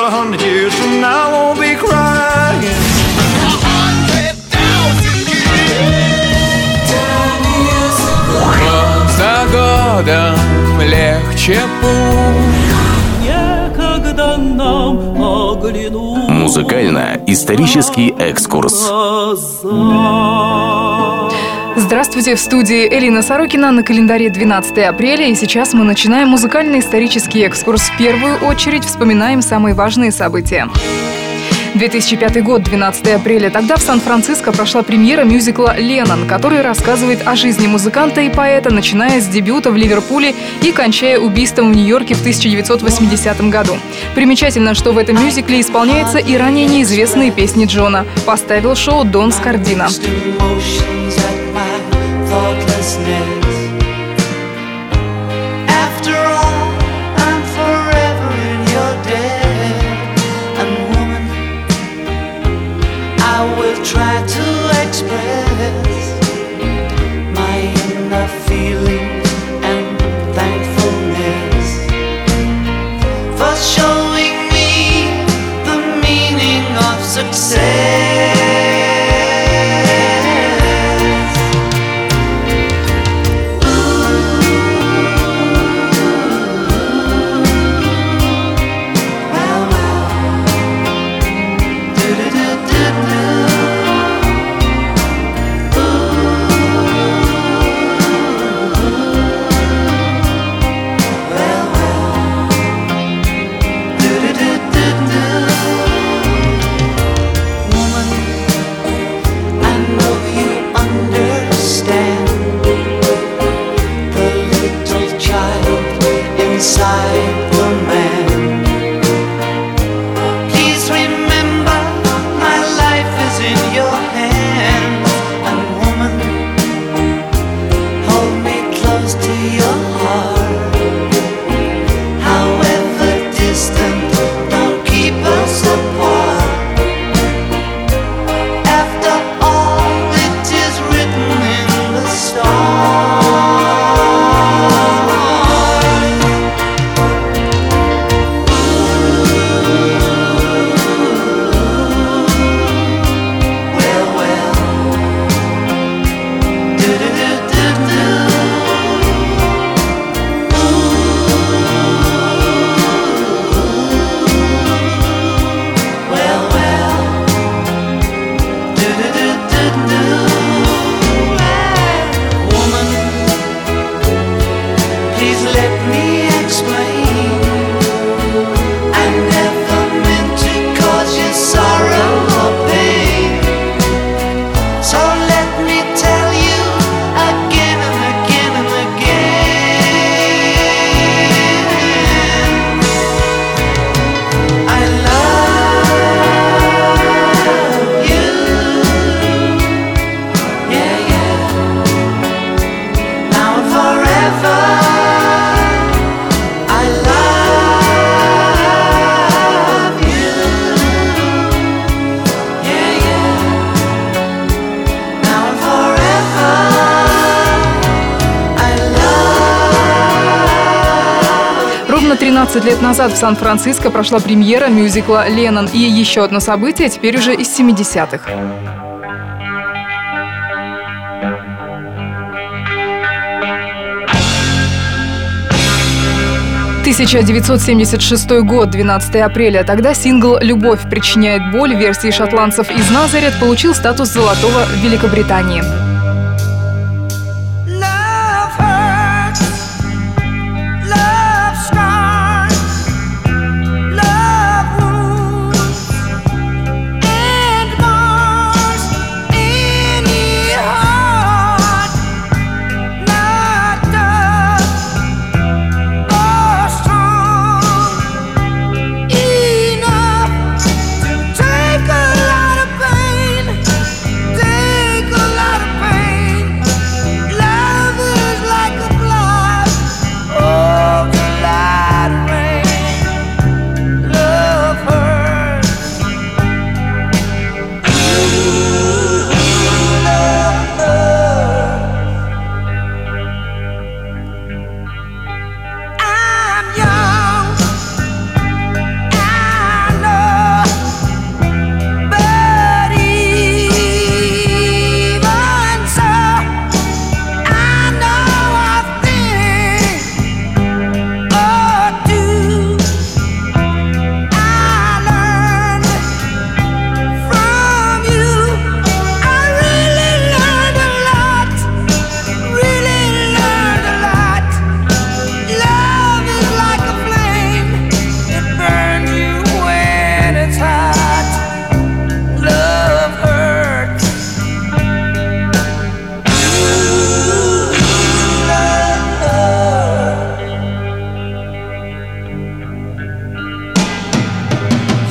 100 years from now, I won't be crying. 100,000 years. Год за годом легче путь. Некогда нам оглянуть. Музыкально-исторический экскурс. Здравствуйте, в студии Элина Сорокина, на календаре 12 апреля, и сейчас мы начинаем музыкально-исторический экскурс. В первую очередь вспоминаем самые важные события. 2005 год, 12 апреля. Тогда в Сан-Франциско прошла премьера мюзикла «Леннон», который рассказывает о жизни музыканта и поэта, начиная с дебюта в Ливерпуле и кончая убийством в Нью-Йорке в 1980 году. Примечательно, что в этом мюзикле исполняются и ранее неизвестные песни Джона. Поставил шоу Дон Скардино. Try to express my inner feelings and thankfulness for showing me the meaning of success. Ровно 13 лет назад в Сан-Франциско прошла премьера мюзикла «Леннон». И еще одно событие, теперь уже из 70-х. «1976 год, 12 апреля. Тогда сингл «Любовь причиняет боль» в версии шотландцев из Назарет получил статус золотого в Великобритании. Take a lot of pain, take a lot of pain.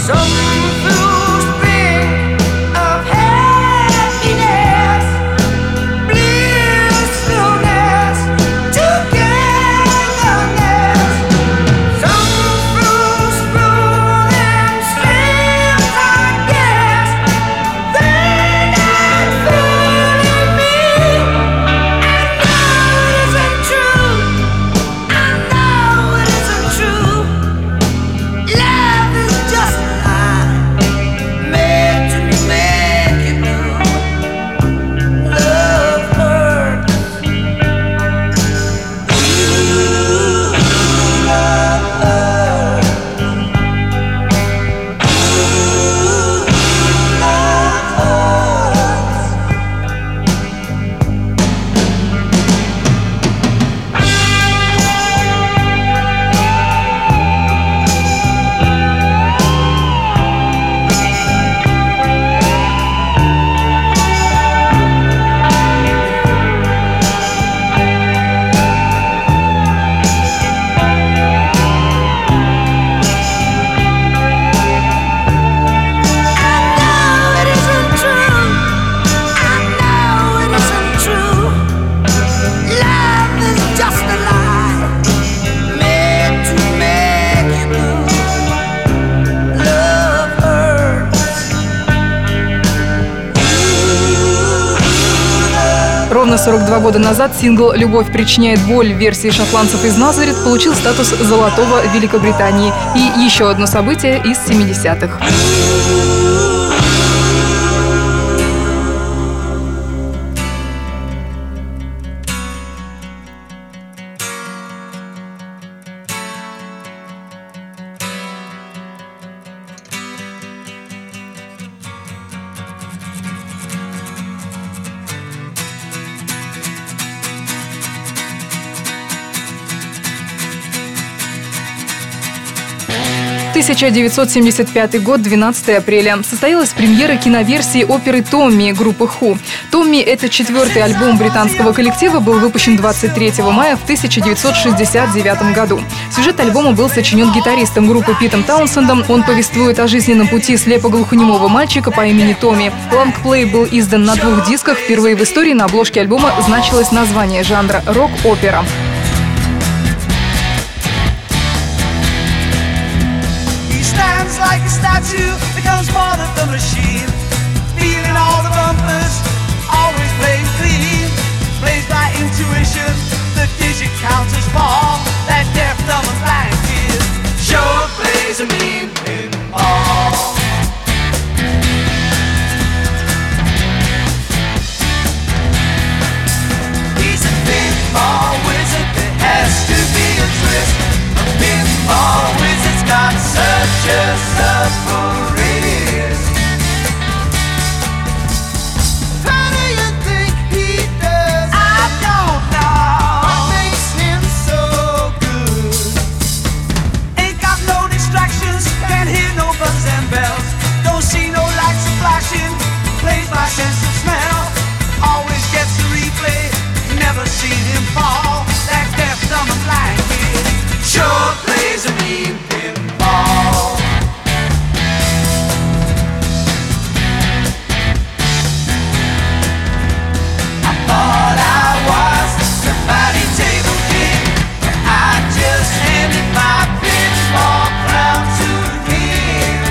Ровно 42 года назад сингл «Любовь причиняет боль» в версии шотландцев из Назарет получил статус золотого в Великобритании. И еще одно событие из 70-х. В 1975 год, 12 апреля, состоялась премьера киноверсии оперы «Томми» группы Who. «Томми» — это 4-й альбом британского коллектива, был выпущен 23 мая в 1969 году. Сюжет альбома был сочинен гитаристом группы Питом Таунсендом. Он повествует о жизненном пути слепоглухонемого мальчика по имени Томми. Лонгплей был издан на 2 дисках. Впервые в истории на обложке альбома значилось название жанра «рок-опера». Like a statue, becomes part of the machine. Feeling all the bumpers, always playing clean. Plays by intuition, the digit counters fall. That deaf, dumb and blind kid sure plays a mean pinball. He's a pinball wizard, there has to be a twist. A pinball wizard's got such a submarine. How do you think he does? I don't know. What makes him so good? Ain't got no distractions, can't hear no buzzes and bells. Don't see no lights flashing, plays by sense of smell. Always gets the replay, never seen him fall. That deaf, dumb and blind kid sure plays a mean pinball. Thought I was somebody table king, but I just handed my pinball crown to him.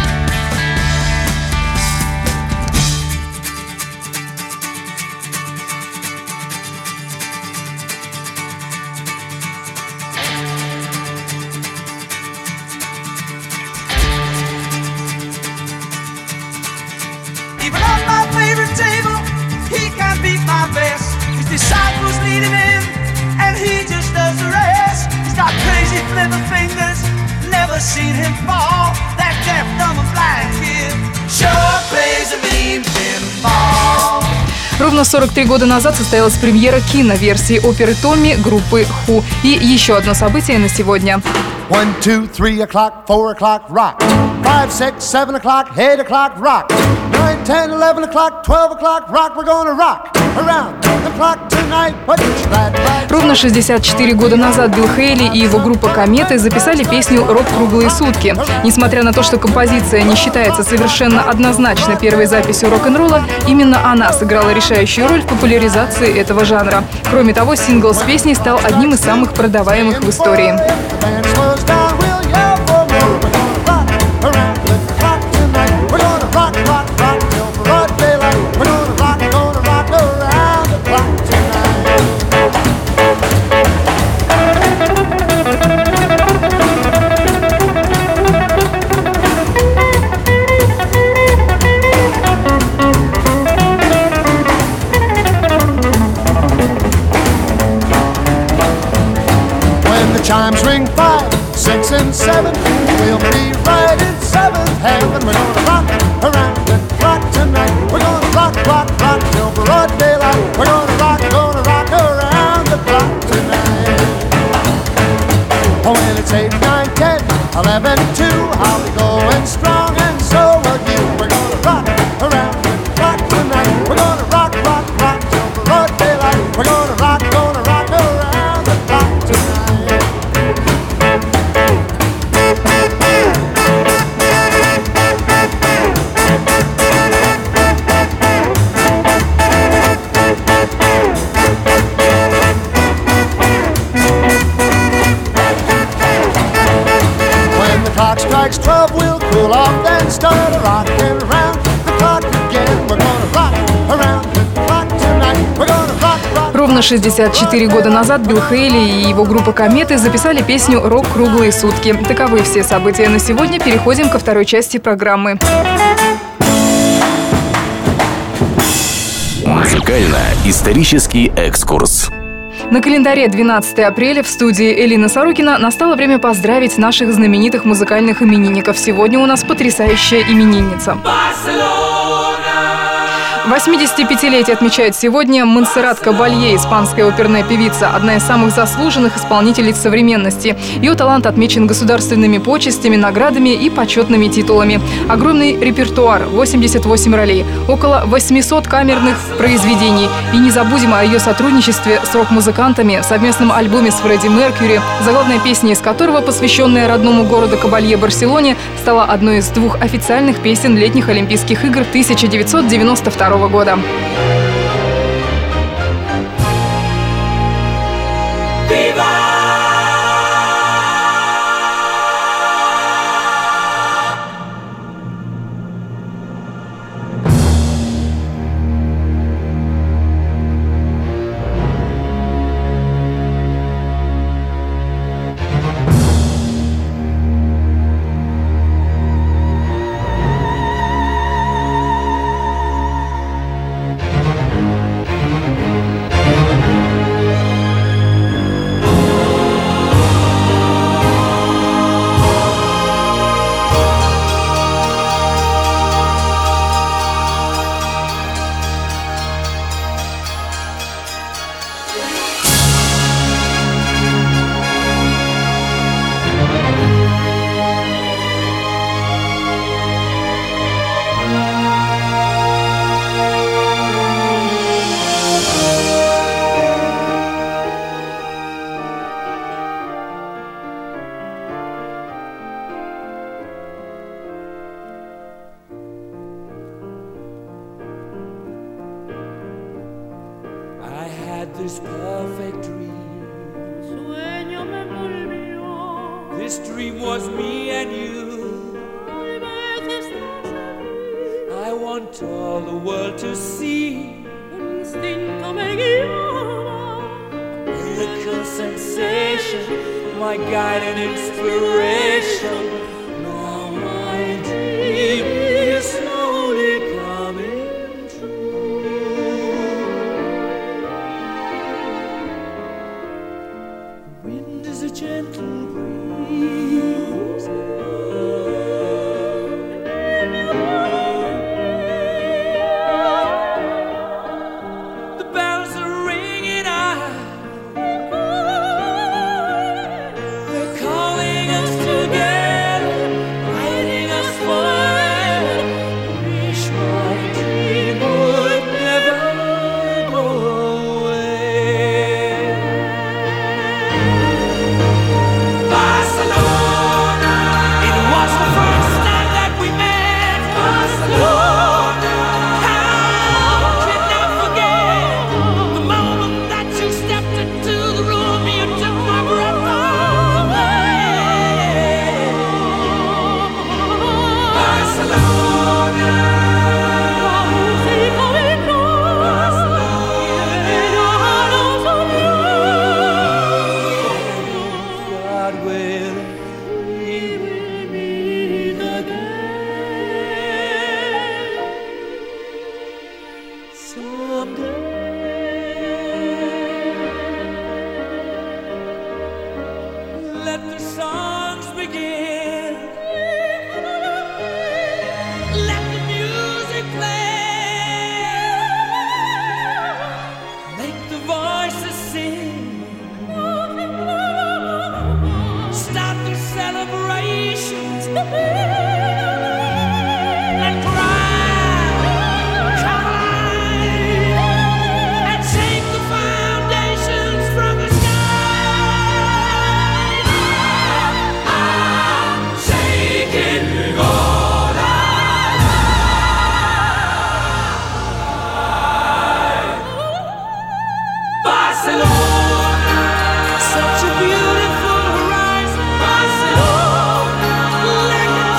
Even on my favorite table, he can't beat my best. His disciples lead him in, and he just does the rest. He's got crazy flipper fingers, never seen him fall. That deaf, dumb and blind kid sure plays a mean pinball. Ровно 43 года назад состоялась премьера киноверсии оперы «Томми» группы Who. И еще одно событие на сегодня. 1, 2, 3 o'clock, 4 o'clock, rock. 5, 6, 7 o'clock, 8 o'clock, rock. 9, 10, 11 o'clock, 12 o'clock, rock. We're gonna rock. around the clock tonight. Put your glad rags. Ровно 64 года назад Билл Хейли и его группа «Кометы» записали песню «Рок круглые сутки». Несмотря на то, что композиция не считается совершенно однозначно первой записью рок-н-ролла, именно она сыграла решающую роль в популяризации этого жанра. Кроме того, сингл с песней стал одним из самых продаваемых в истории. The band slows down, we'll yell for more. We're gonna rock around the clock tonight. We're gonna rock, rock, rock till broad daylight. We're gonna rock around the clock tonight. When the chimes ring 5, 6, and 7, we'll be right in seventh heaven. We're gonna rock around the clock tonight. We're gonna rock, rock, rock till broad daylight. We're gonna rock around the clock tonight. Oh, when it's 8, 9, 10, 11, 2, I'll be going strong, and so will you. We're gonna rock around the clock tonight. We're gonna rock, rock, rock till broad daylight. We're gonna rock around the clock tonight. When the clock strikes 12, we'll cool off, then start rocking around the clock again. We're gonna rock around the clock tonight. We're gonna rock, rock. Ровно 64 года назад Билл Хейли и его группа «Кометы» записали песню «Рок круглые сутки». Таковы все события на сегодня. Переходим ко второй части программы. Музыкально-исторический экскурс. На календаре 12 апреля в студии Элина Сорокина настало время поздравить наших знаменитых музыкальных именинников. Сегодня у нас потрясающая именинница. 85-летие отмечает сегодня Монсеррат Кабалье, испанская оперная певица, одна из самых заслуженных исполнительниц современности. Ее талант отмечен государственными почестями, наградами и почетными титулами. Огромный репертуар, 88 ролей, около 800 камерных произведений. И не забудем о ее сотрудничестве с рок-музыкантами в совместном альбоме с Фредди Меркьюри, заглавная песня из которого, посвященная родному городу Кабалье Барселоне, стала одной из 2 официальных песен летних Олимпийских игр 1992 года. This perfect dream. Sueño me envolvió. This dream was me and you. Tal vez estás aquí. I want all the world to see. El instinto me guiaba. Miracle sensation, my guide and inspiration. Now my dream is slowly coming true. Wind is a gentle breeze. The bells are ringing out. They're calling us together.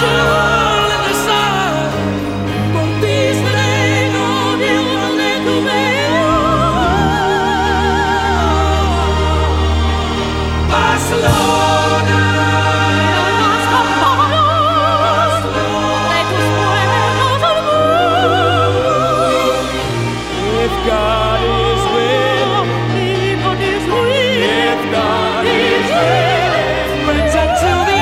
sol in the sun. Por ti seré novio de tu Barcelona. Los campanos de tus pueblos al mundo. If God is willing, if God is willing, let's until the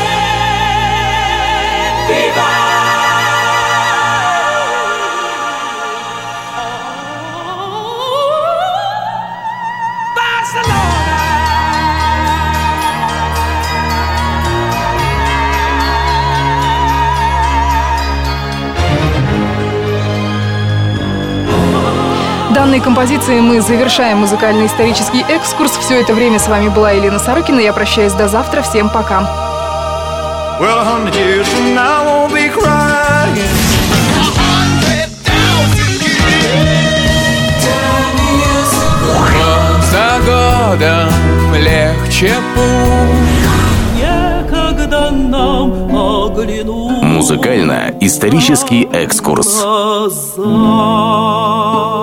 end. Viva! Данной композицией мы завершаем музыкальный исторический экскурс. Все это время с вами была Елена Сорокина. Я прощаюсь до завтра. Всем пока. Well, 100 years from now I won't be crying. За годом легче путь. Некогда нам оглянуть Музыкально-исторический экскурс. глаза.